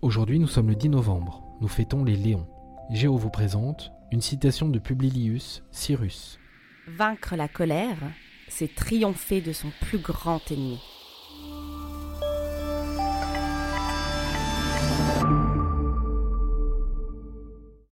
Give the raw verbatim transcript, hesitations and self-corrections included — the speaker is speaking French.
Aujourd'hui, nous sommes le dix novembre. Nous fêtons les Léons. Géo vous présente une citation de Publilius Cyrus. Vaincre la colère, c'est triompher de son plus grand ennemi.